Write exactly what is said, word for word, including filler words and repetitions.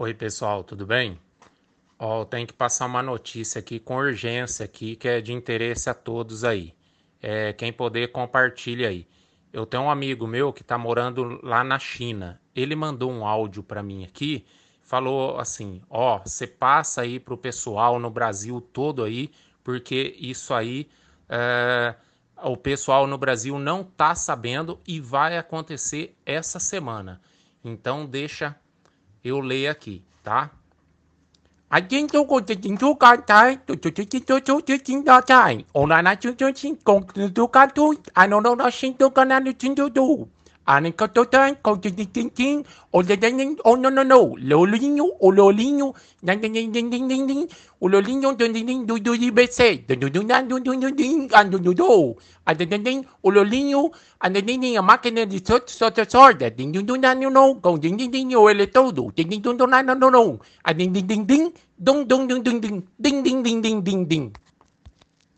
Oi, pessoal, tudo bem? Ó, eu tenho que passar uma notícia aqui com urgência aqui, que é de interesse a todos aí. É, quem puder, compartilha aí. Eu tenho um amigo meu que está morando lá na China. Ele mandou um áudio para mim aqui, falou assim: ó, você passa aí pro pessoal no Brasil todo aí, porque isso aí é, o pessoal no Brasil não tá sabendo e vai acontecer essa semana. Então deixa eu ler aqui, tá? I think tôi có chính chú con trai, tôi tôi tôi tôi tôi tôi chính đó trai. Ông là nói chú chú chính con tôi con tôi, anh nói nó xin tôi con anh chính tôi tôi. Anh có tôi thấy con chính chính chính chính. Ông là đánh đánh, oh no no no, lô linho, oh lô linho, đánh đánh đánh đánh đánh đánh đánh. Oh lô linho, đánh đánh đánh, đu đu đi bê xê, đu đu đu đu đu đu đu, anh đu đu đu. Anh đánh đánh đánh, oh lô linho, anh đánh đánh đánh, a máquina de sorte sorte, đu đu đu đu đu, con đánh đánh đánh, ele todo, đánh đánh đu đu đu đu đu. Anh đánh đánh đánh đánh. Ding, ding, ding, ding, ding, ding, ding, ding, ding, ding, ding.